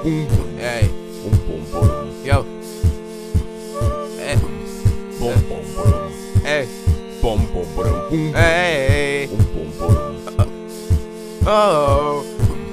Hey, yo, hey, hey, hey, oh,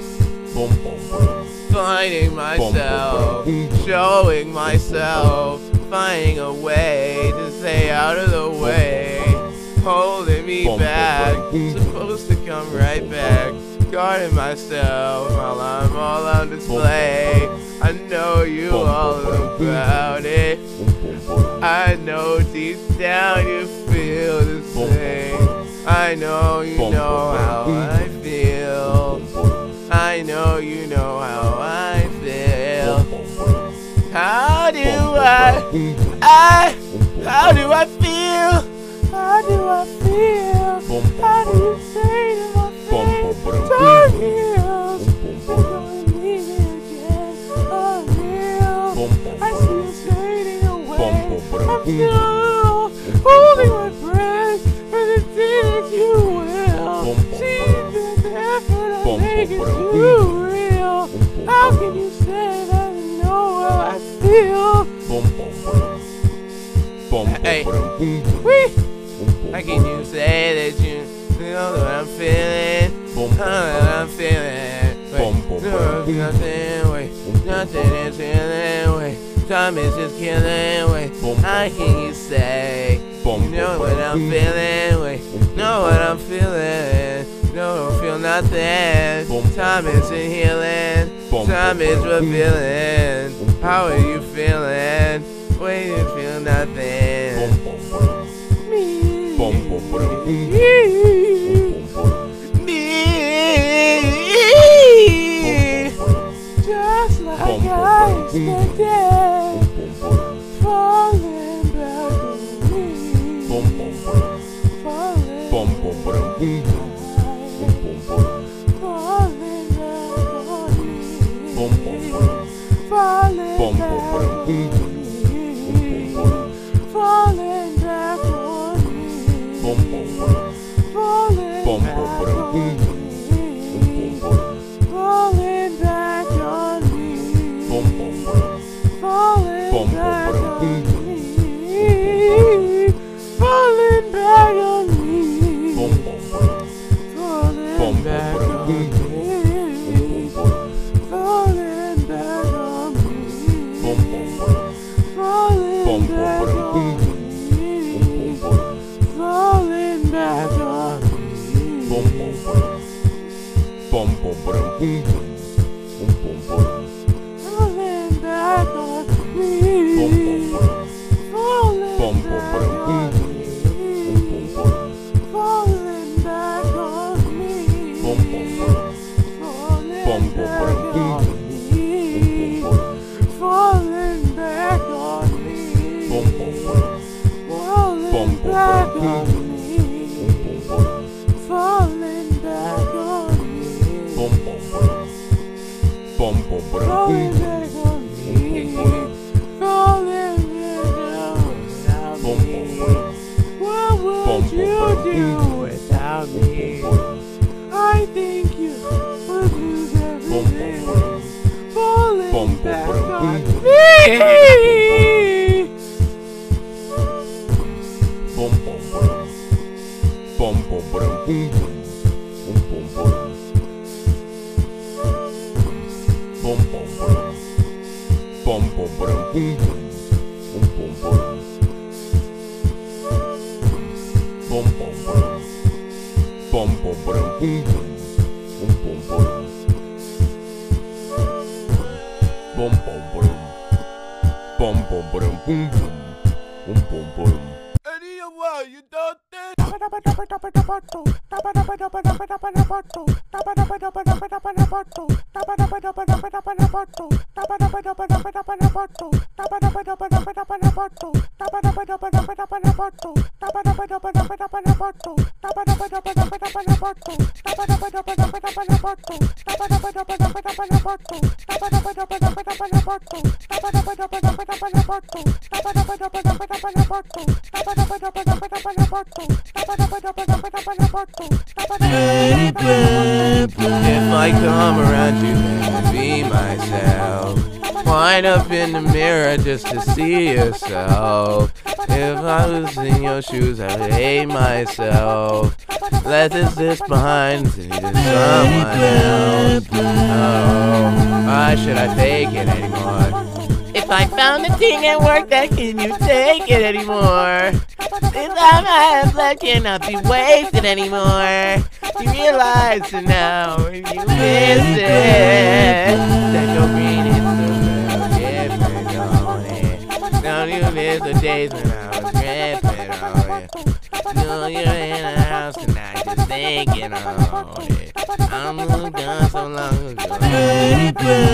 finding myself, showing myself, finding a way to stay out of the way, holding me back, supposed to come right back, guarding myself while I'm all on display. I know you all about it. I know deep down you feel the same. I know you know how I feel. I know you know how I feel. How do I feel? How do I feel? How do you say to my face, time heals, you're gonna leave me again, unreal. I see you fading away, I'm still holding my breath for the day that you will. See the effort I make is too real. How can you say that you know how I feel? Hey, how can you say that you know what I'm feeling? Nothing is healing, wait. Time is just killing, wait. How can you say you know what I'm feeling, wait? Know what I'm feeling, no, don't feel nothing. Time isn't healing, time is revealing. How are you feeling? Wait, you feel nothing. Just like I expected, falling back on me, falling back on me, falling back on me, falling back on me, falling back on me. Falling back on me, falling back on me, falling back on me, falling back on me, falling back on me, falling back on me, falling back on me. Falling back on me, falling back on me, falling back on me, falling back on me, falling back on me, falling back on me, falling back on me. Falling back on me, falling back on me. What would you do without me? I think you would lose everything. Falling back on me. You don't think? If I come around you, then be myself. Wind up in the mirror just to see yourself. If I was in your shoes, I would hate myself. Let this behind and see to someone else. Oh, why should I take it anymore? If I found a thing at work that can you take it anymore? This time I have left cannot be wasted anymore. You realize it now when you miss it. That your green is so different, don't it? Don't you miss the days when I was gripping on it? No, you're in a house tonight just thinking on it. I moved on so long ago. I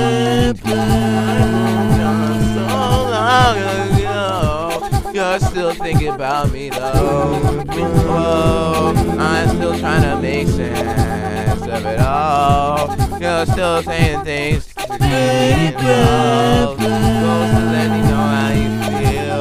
moved on so long ago. You're still thinking about me though. Oh, I'm still trying to make sense of it all. You're still saying things to get involved. Supposed to let me know how you feel.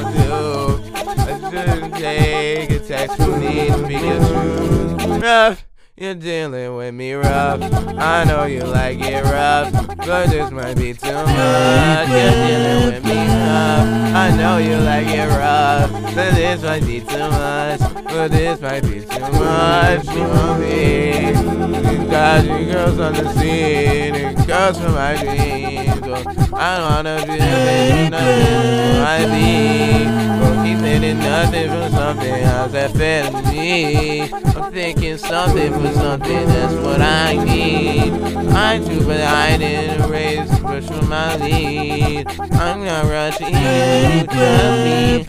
I shouldn't take a text from me to speak your truth. Rough, you're dealing with me rough. I know you like it rough, but this might be too much. You're dealing with me rough. I know you like it rough, but this might be too much. But this might be too much for me. Got you girls on the scene, and girls from my dreams. Well, I don't wanna be nothing for I be. Keep thinking nothing from something else that fed me. I'm thinking something for something, that's what I need. I do, but I didn't raise the push for my lead. I'm not rushing you, trust me.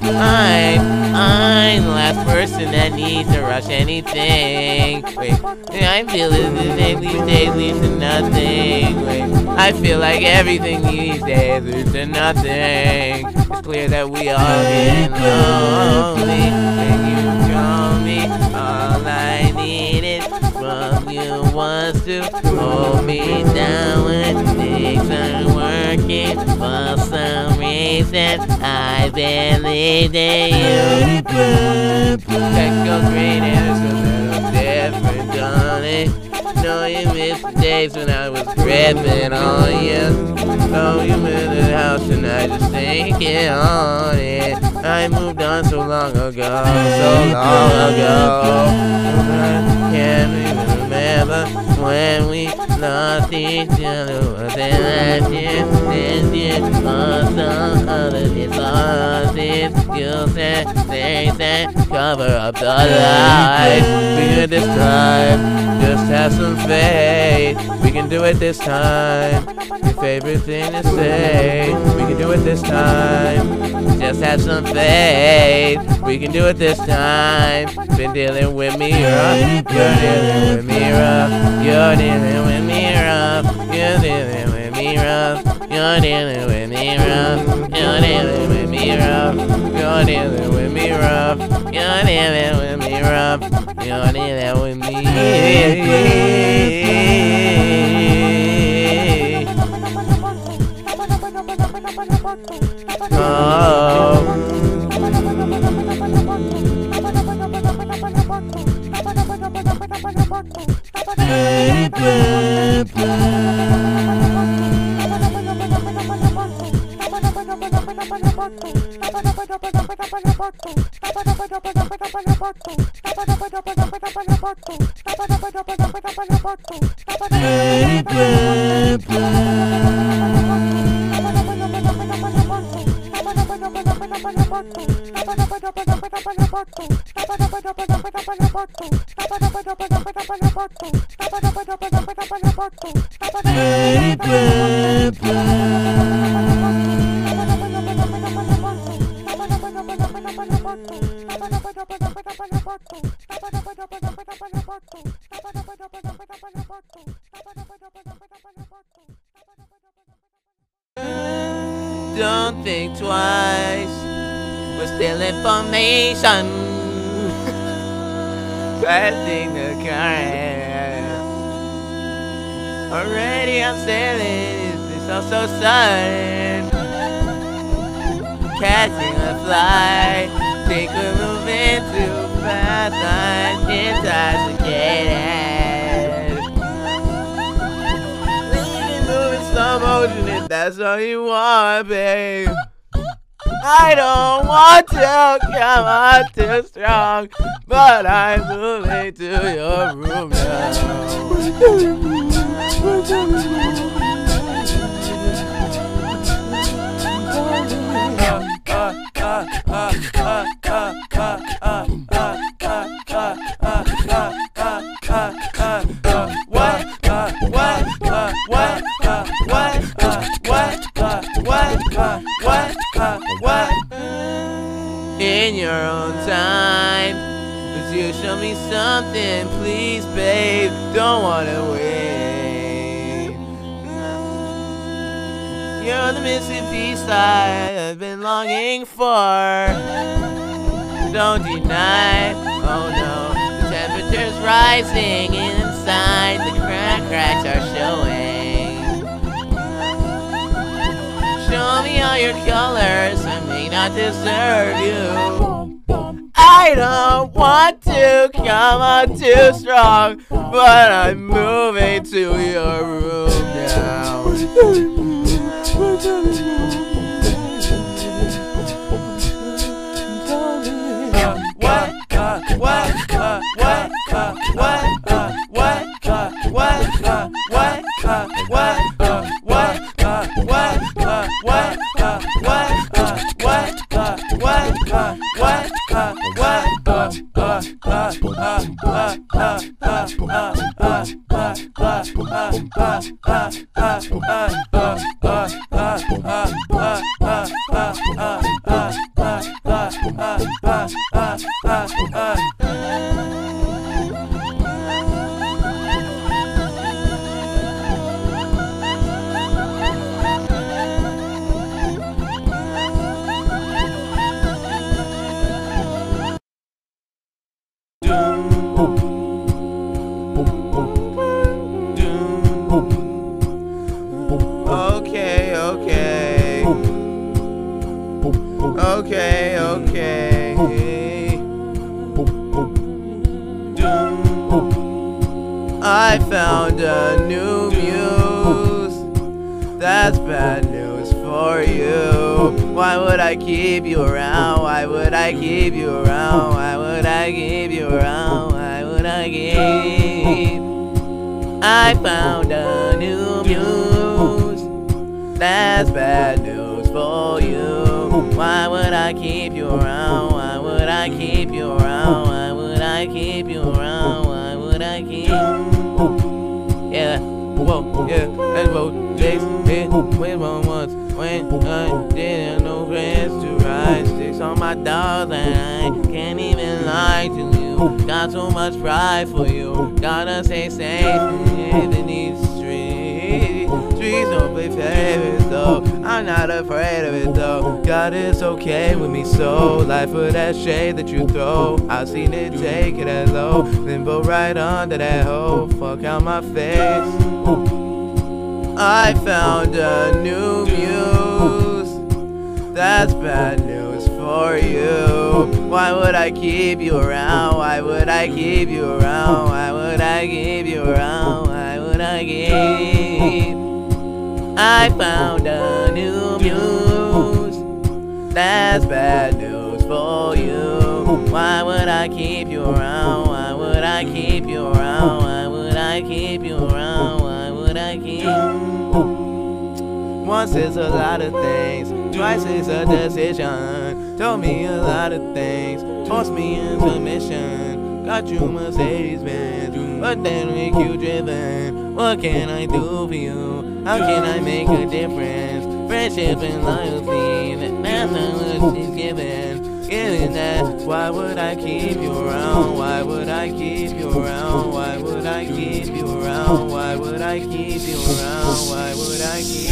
I'm the last person that needs to rush anything. Wait, I feel it these days leads to nothing. Wait, I feel like everything these days leads to nothing. It's clear that we all get lonely when you call me. All I needed from you was to hold me down when things aren't working. For some reason, I believed in you. Text goes green and it's a little different, don't it? No, you missed the days when I was gripping on you. No, you in the house and I just thinking on it. I moved on so long ago, so long ago. I can't even remember when we lost each other. Was it last year, this year, or some other disorder? You said, they said, cover up the lies. We did this time, just have some faith. We can do it this time. Your favorite thing to say. We can do it this time. Just have some faith. We can do it this time. Been dealing with me rough. You're dealing with me rough. You're dealing with me rough. You're dealing with me rough. You're dealing with me rough. You're dealing with me rough. You're dealing with me rough. You're dealing with me rough. You're dealing with me. Oh. Don't think twice, we're still information. Passing the current. Already I'm sailing, it's all so sudden. Catching a flight, think we're moving too fast. that's all you want, babe. I don't want to come on too strong, but I'm moving to your room now. What? In your own time, would you show me something, please, babe? Don't wanna wait. You're the missing piece I've been longing for. Don't deny, oh no, the temperature's rising inside. The cracks are showing. Show me all your colors, I may not deserve you. I don't want to come on too strong, but I'm moving to your room now. Okay. I found a new muse. That's bad news for you. Why would I keep you around? Why would I keep you around? Why would I keep you around? Why would I keep? I found a new muse. That's bad news for you. Why would I keep you around? Why would I keep you around? Why would I keep you around? Why would I keep? Yeah, whoa, yeah, let's vote. Sticks hit with one once when I didn't know friends to ride. Sticks on my dogs and I can't even lie to you. Got so much pride for you. Gotta stay safe in these streets. Streets don't play favorites though. I'm not afraid of it though. God is okay with me so. Life for that shade that you throw. I've seen it take it as low. Limbo right under that hole. Fuck out my face. I found a new muse. That's bad news for you. Why would I keep you around? Why would I keep you around? Why would I keep you around? Why would I keep? I found a new muse. That's bad news for you. Why would I keep you around? Why would I keep you around? Why would I keep you around? Why would I keep? Once is a lot of things, twice is a decision. Told me a lot of things, forced me into mission. Got you Mercedes-Benz, but then make you driven. What can I do for you? How can I make a difference? Friendship and loyalty, that's not what she's given. Given that, why would I keep you around? Why would I keep you around? Why would I keep you around? Why would I keep you around? Why would I keep?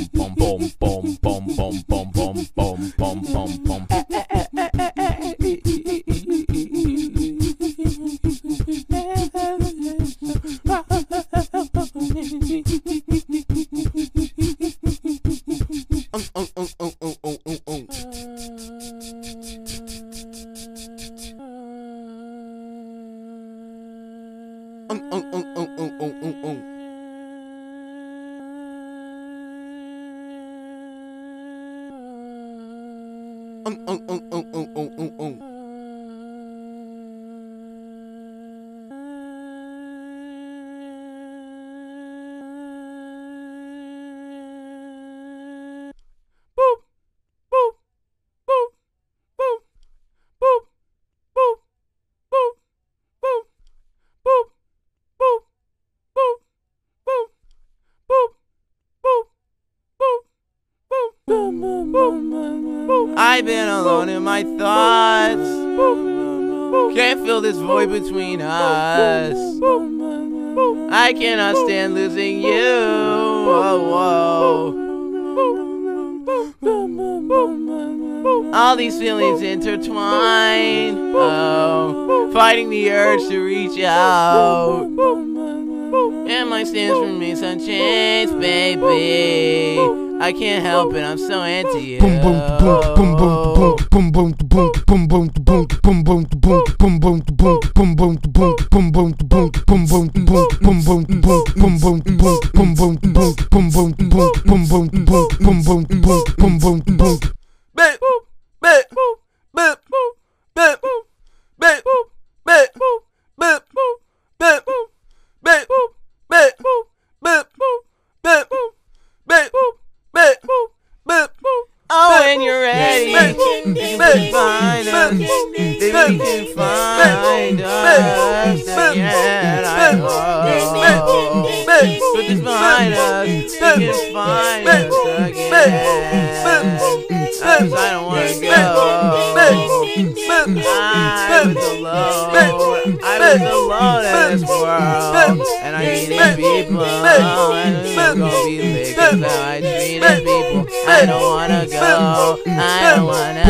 I've been alone in my thoughts. Can't fill this void between us. I cannot stand losing you. Oh, whoa. All these feelings intertwine. Oh, fighting the urge to reach out. And my stance remains unchanged, baby. I can't help it, I'm so into you. Oh, when you're ready, you can find us. Baby, you can find us again. I hope. Put this behind us. You can find us again. Cause I don't wanna go. I was alone in this world, and I needed people, and it's gonna be lit, cause how I treated people. I don't wanna go, I don't wanna.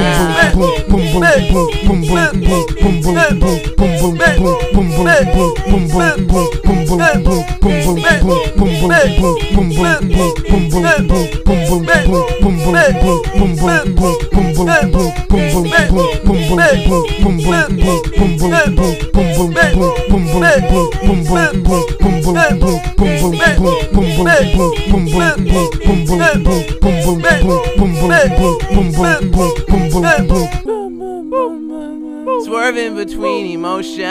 Swerving between emotions.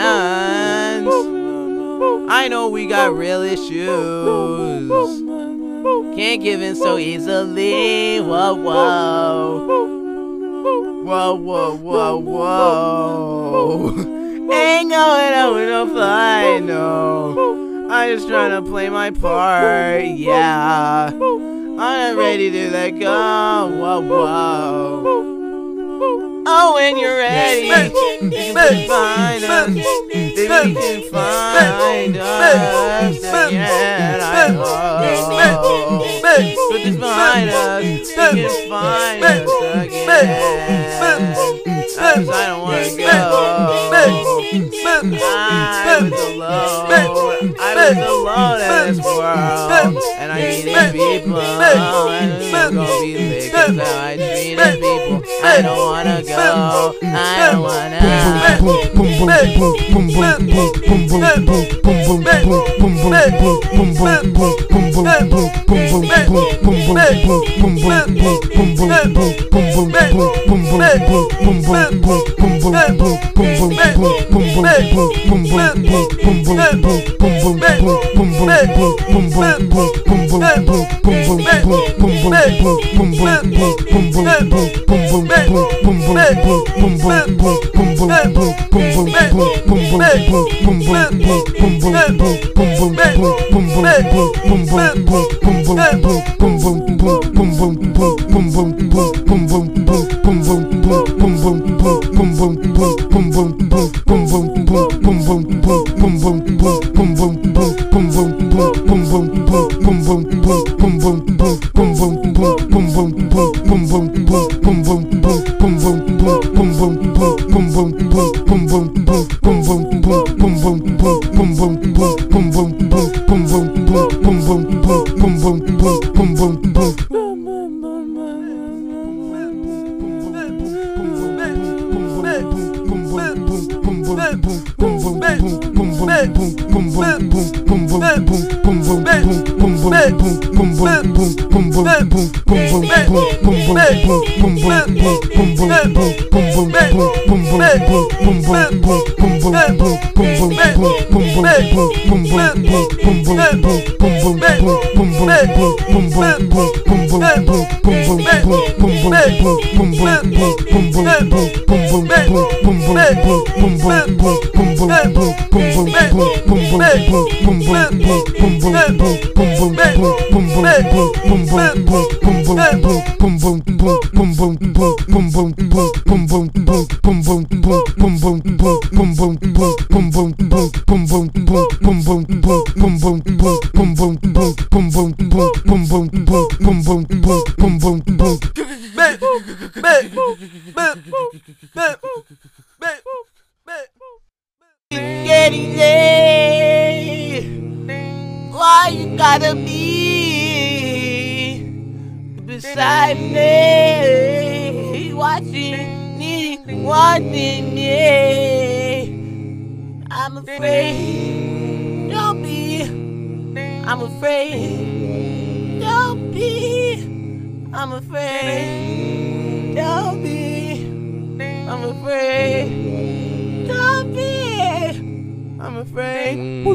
I know we got real issues. Can't give in so easily. Whoa, whoa. Whoa, whoa, whoa, whoa. Ain't going out with no fight, no. I'm just trying to play my part, yeah. I'm not ready to let go. Whoa, whoa. Oh, when you're ready, you can find us. Baby, you can find us again. I hope. Put this behind us. You can find us again. Cause I don't wanna go. I was alone in this world, and I needed people, and it's gonna be lit, cause how I treated people. I don't wanna go, I don't wanna. Getting late. Why you gotta be beside me, watching me, wanting me? I'm afraid. Don't be. I'm afraid. Don't be. I'm afraid. Don't be. I'm afraid. Don't be. I'm afraid.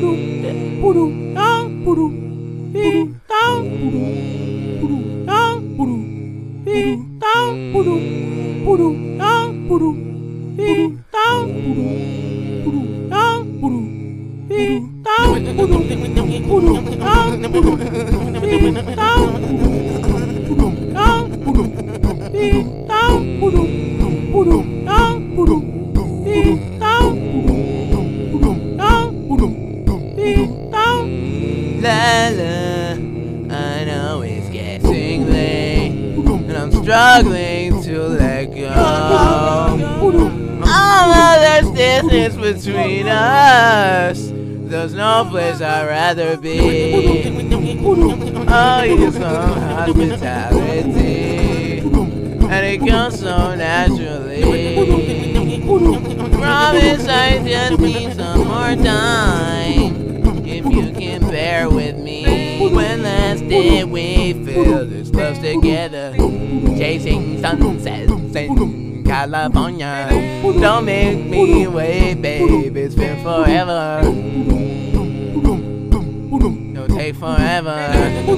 I know it's getting late, and I'm struggling to let go. All of this distance between us, there's no place I'd rather be. Oh, you're some hospitality, and it comes so naturally. Promise I just need some more time. If you can bear with me, when last did we feel this close together, chasing sunsets in California? Don't make me wait, babe, it's been forever. Don't take forever.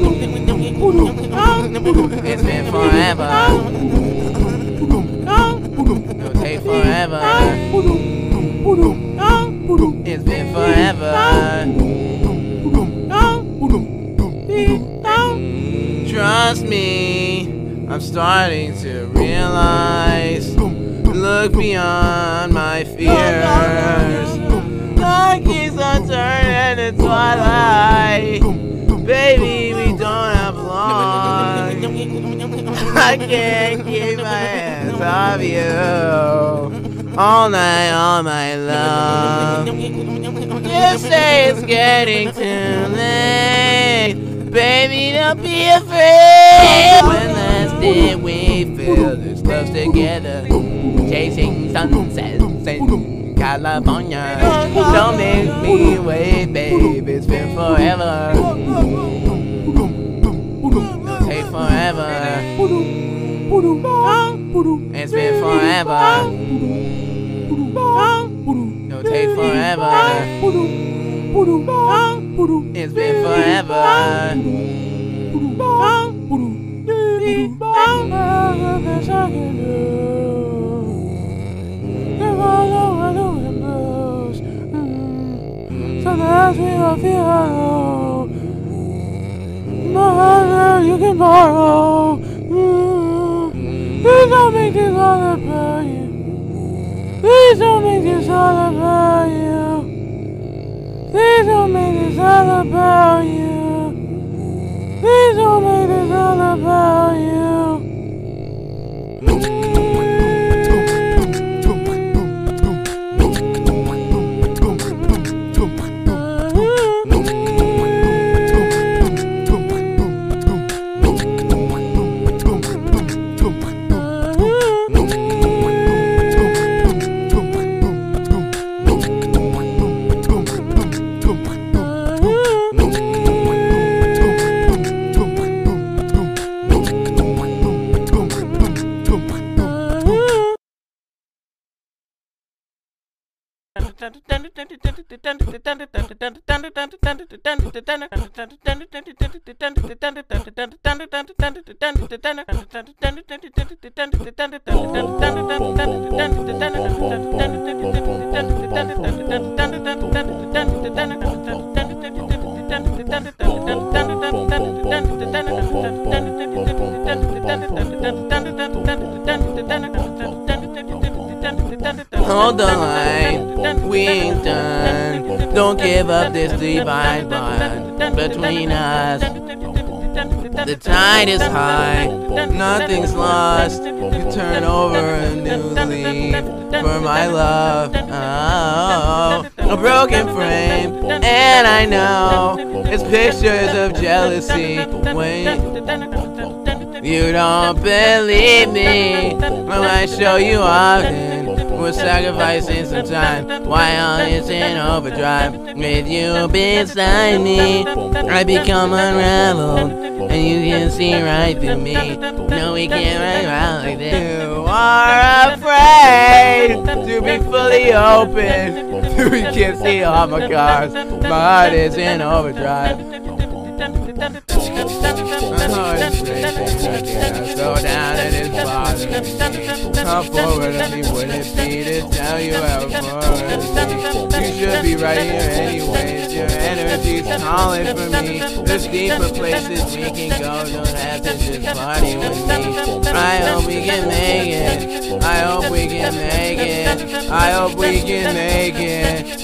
It's been forever. Don't take forever. It's been forever. Trust me, I'm starting to realize. Look beyond my fears. Dark is unturned in twilight. Baby, we don't have long. I can't keep my hands off you. All night, all my love. You say it's getting too late. Baby, don't be afraid. When last did we feel this close together, chasing sunsets in California? Don't make me wait, babe, it's been forever. Don't take forever. It's been forever. Don't take forever. It's been forever. There's nothing I can do. Something else we will feel hollow. My heart you can borrow. Please don't make this all about you. Please don't make this all about you. Please don't make this all about you. Please don't make this all about you. Hold the line, we ain't done. Don't give up this divine bond between us. The tide is high, nothing's lost. You turn over a new leaf for my love. Oh, a broken frame, and I know it's pictures of jealousy. Wait, you don't believe me when I show you often. We're sacrificing some time while it's in overdrive. With you beside me, I become unraveled, and you can see right through me. No, we can't run around like this. You are afraid to be fully open. You can't see all my cars. My heart is in overdrive. My heart is racing, go down and it's bothering me. Come forward to me, would it be to tell you how far you should be right here anyways. Your energy's calling for me. There's deeper places we can go. Don't have to just party with me. I hope we can make it. I hope we can make it. I hope we can make it.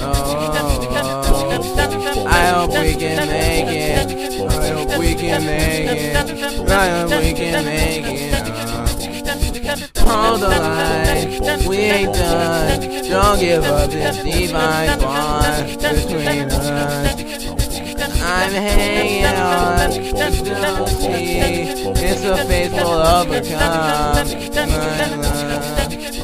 Oh, I hope we can make it. I hope we can make it. I hope we can make it. Hold the line, we ain't done. Don't give up this divine bond between us. I'm hanging on, don't see. It's a faithful overcome. My love.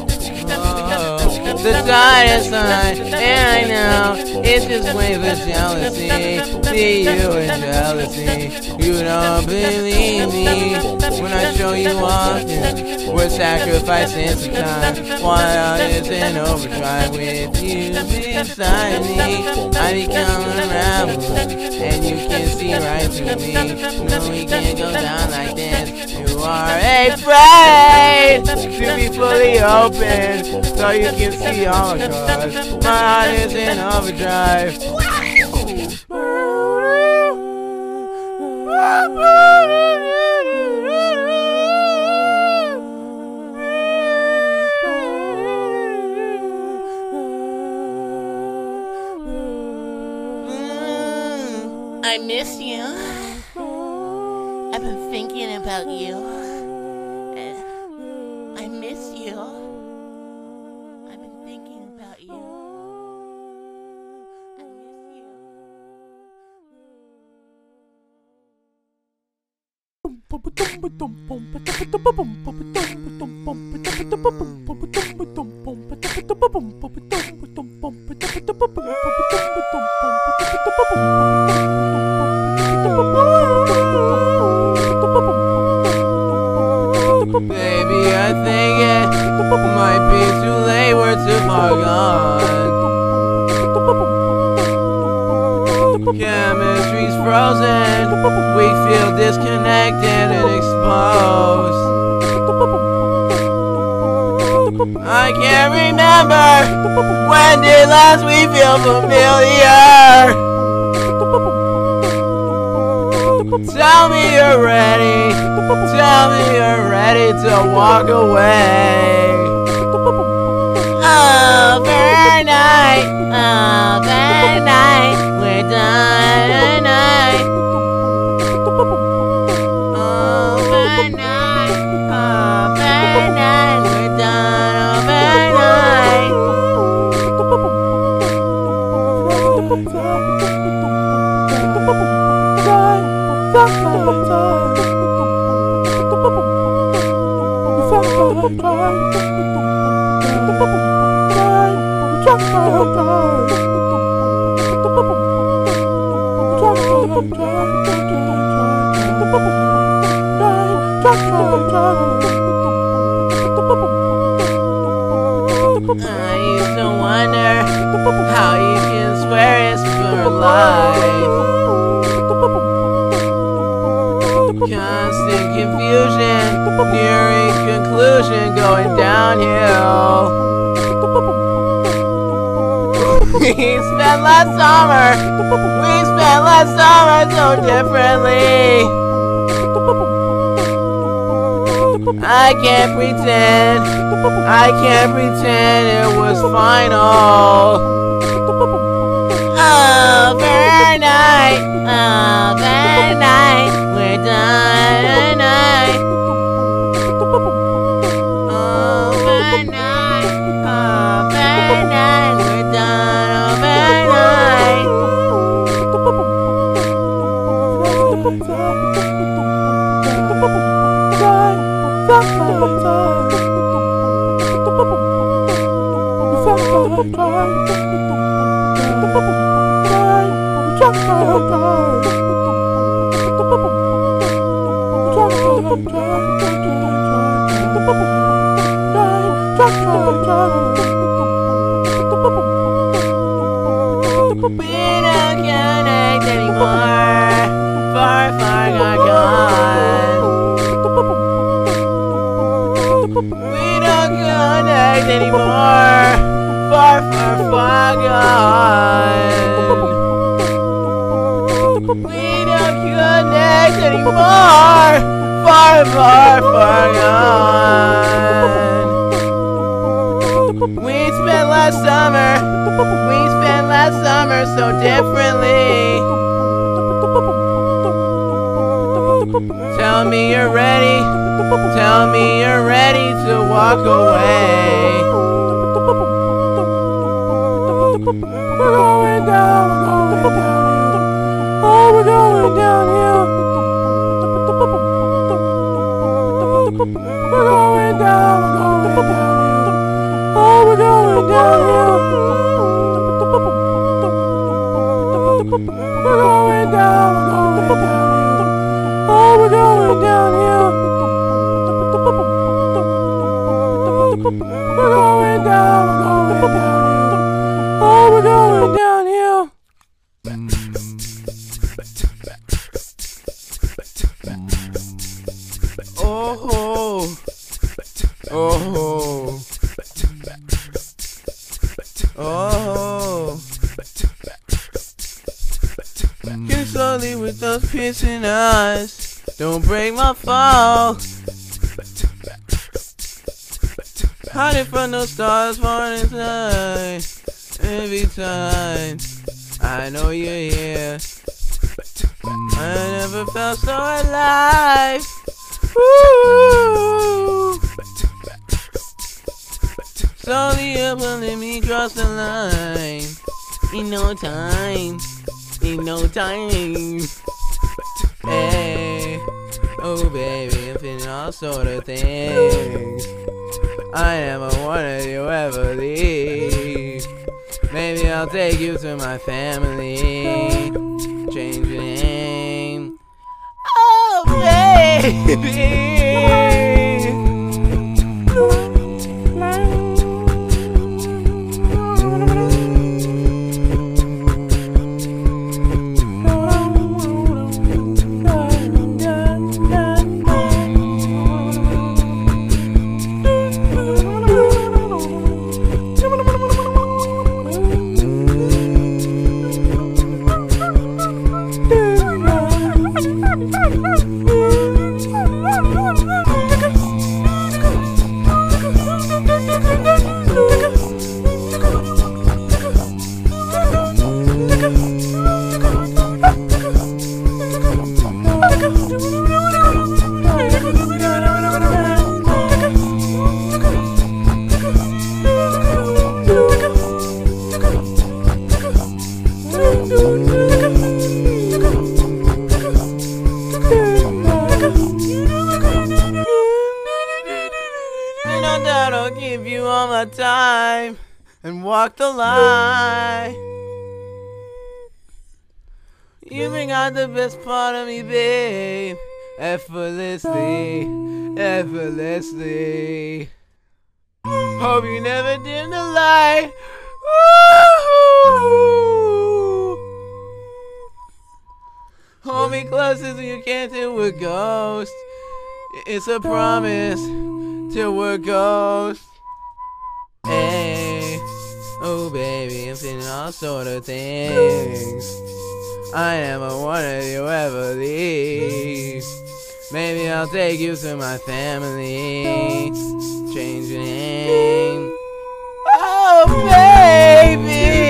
The tide is high, and I know it's just waves of jealousy. See you in jealousy. You don't believe me when I show you often. We're sacrificing some time while it's in overdrive. With you beside me, I become unraveled, and you can see right through me. No, we can't go down like this. You are afraid to be fully open, so you can see all the cars. My heart is in overdrive. I miss you. I've been thinking about you. I miss you. I've been thinking about you. I miss you. Baby, I think it might be too late, we're too far gone. Chemistry's frozen, we feel disconnected and exposed. I can't remember. When did last we feel familiar? Tell me you're ready. Tell me you're ready to walk away. Overnight, overnight, we're done tonight. Overnight, overnight, we're done overnight. I used to wonder how you can swear it's for life. Constant confusion, nearing conclusion, going downhill. We spent last summer so differently. I can't pretend it was final. Overnight, overnight, we're done tonight. Overnight, overnight, we're done overnight. We don't connect anymore. Far, far gone. We don't connect anymore. Far, far, far gone. We don't connect anymore. Far, far, far gone. We spent last summer so differently. Tell me you're ready. Tell me you're ready to walk away. We're going down, oh, we're going downhill. We're going down, oh, we're going downhill. We're going down, oh, we're going downhill. We're going down, oh, we're going downhill. Oh, oh, oh. Get slowly with those piercing eyes. Don't break my fall. Hiding from those stars, morning time. Every time I know you're here. I never felt so alive. Woo! Slowly you're pulling me across the line. In no time. In no time. Hey, oh baby, I'm feeling all sort of things. I never wanted you ever leave. Maybe I'll take you to my family. Change your name. Oh baby. and walk the line. You bring out the best part of me, babe, effortlessly, effortlessly. Hope you never dim the light. Ooh. Hold me close as you can't till we're ghosts. It's a promise till we're ghosts. Hey, oh baby, I'm feeling all sort of things. I never wanted you ever leave. Maybe I'll take you to my family. Change your name. Oh baby,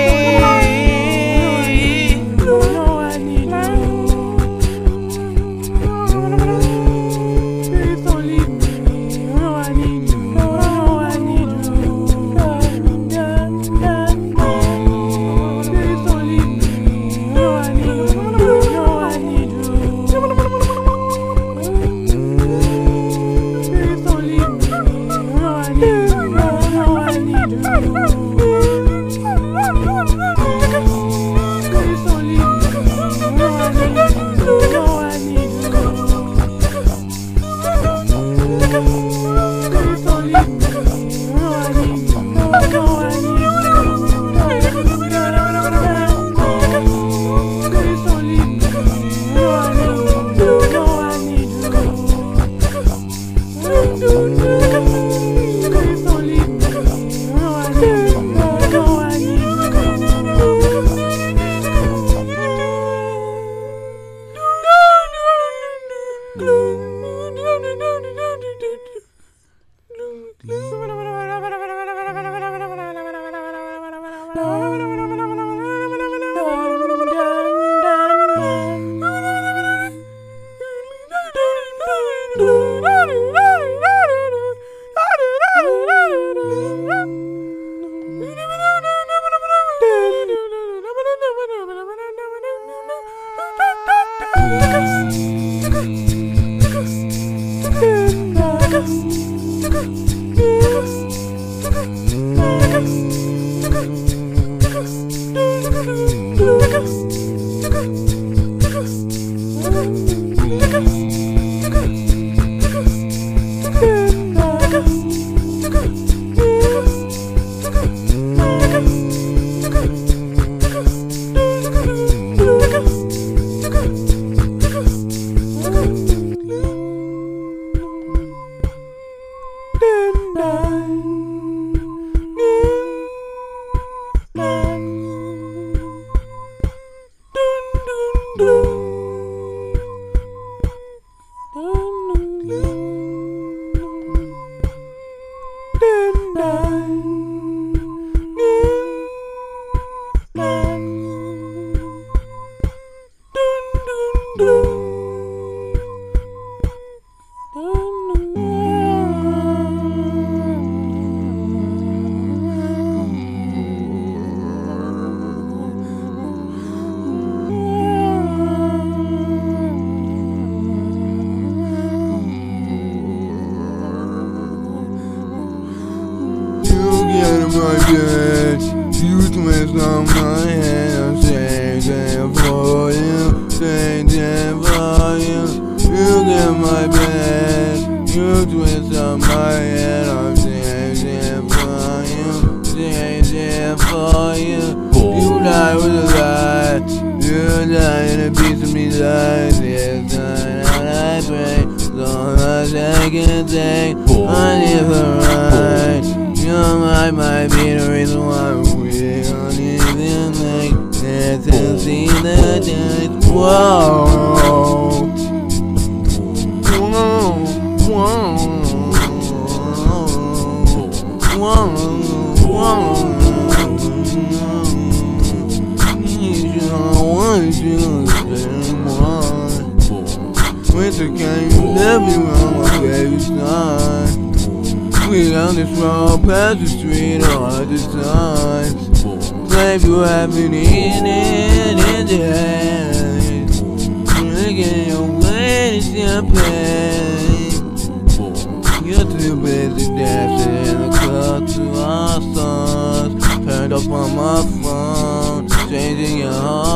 my bitch, you twist on my head. I'm changing for you, changing for you. You get my bed, you twist on my head. I'm changing for you, changing for you. You die with a lie, you die in a piece of me lies. It's not how I pray, so much I can take. I live right. Your mind might be the reason why we don't even make it to see the day. Whoa, whoa, whoa, whoa, whoa. You don't want you to stay more. Winter came, you left me wrong, my baby son. We down this road, past the street all the time. Claim you have been eating it in the head. Drinking your way to champagne. You're too busy dancing in the club to our songs.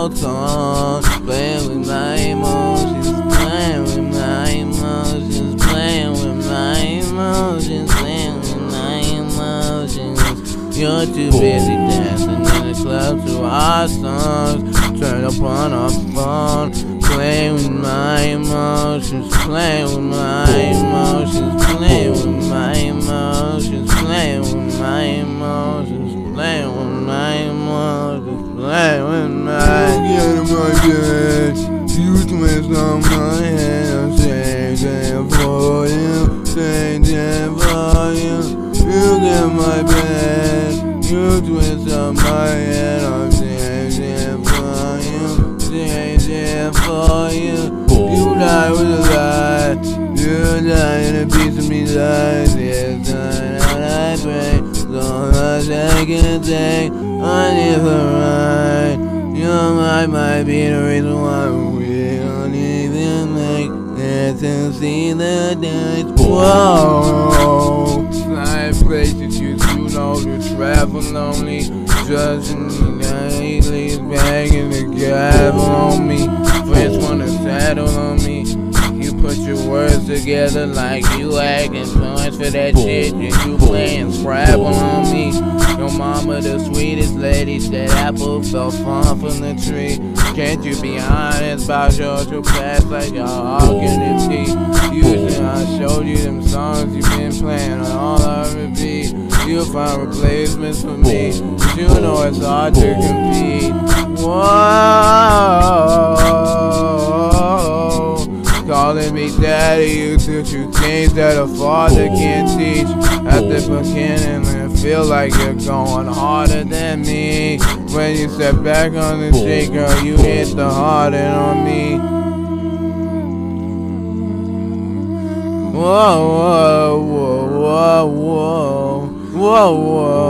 whole song. Playing with my emotions, playing with my emotions, playing with my emotions, playing with my emotions. You're too busy dancing in the club to our songs. Turn up on our phone, playing with my emotions, playing with my emotions, playing with my emotions, playing with my emotions, playing with my emotions, playing with my. Get out of my bed. You twist on my head. I'm changing for you, changing for you. You get my bed. You twist on my head. I'm changing for you, changing for you. You die with a lie. You die in a piece of me lies. Yes, I pray. So much I can take. I never right. Your mind might be the reason why we don't even make it to see the days. Whoa. Side places you do know to travel lonely. Judging me nightly, begging to gavel on me. Friends wanna settle on me. You put your words together like you acting points for that shit. And you playing Scrabble on me. Your mama the sweetest lady, said apple fell far from the tree. Can't you be honest about your true past like y'all all can it be? Usually I showed you them songs you've been playing on all I repeat. You'll find replacements for me, but you know it's hard to compete. Whoa, calling me daddy, you teach you things that a father can't teach. At the beginning, it feel like you're going harder than me. When you step back on the street, girl, you hit the harder on me. Whoa, whoa, whoa, whoa, whoa, whoa, whoa.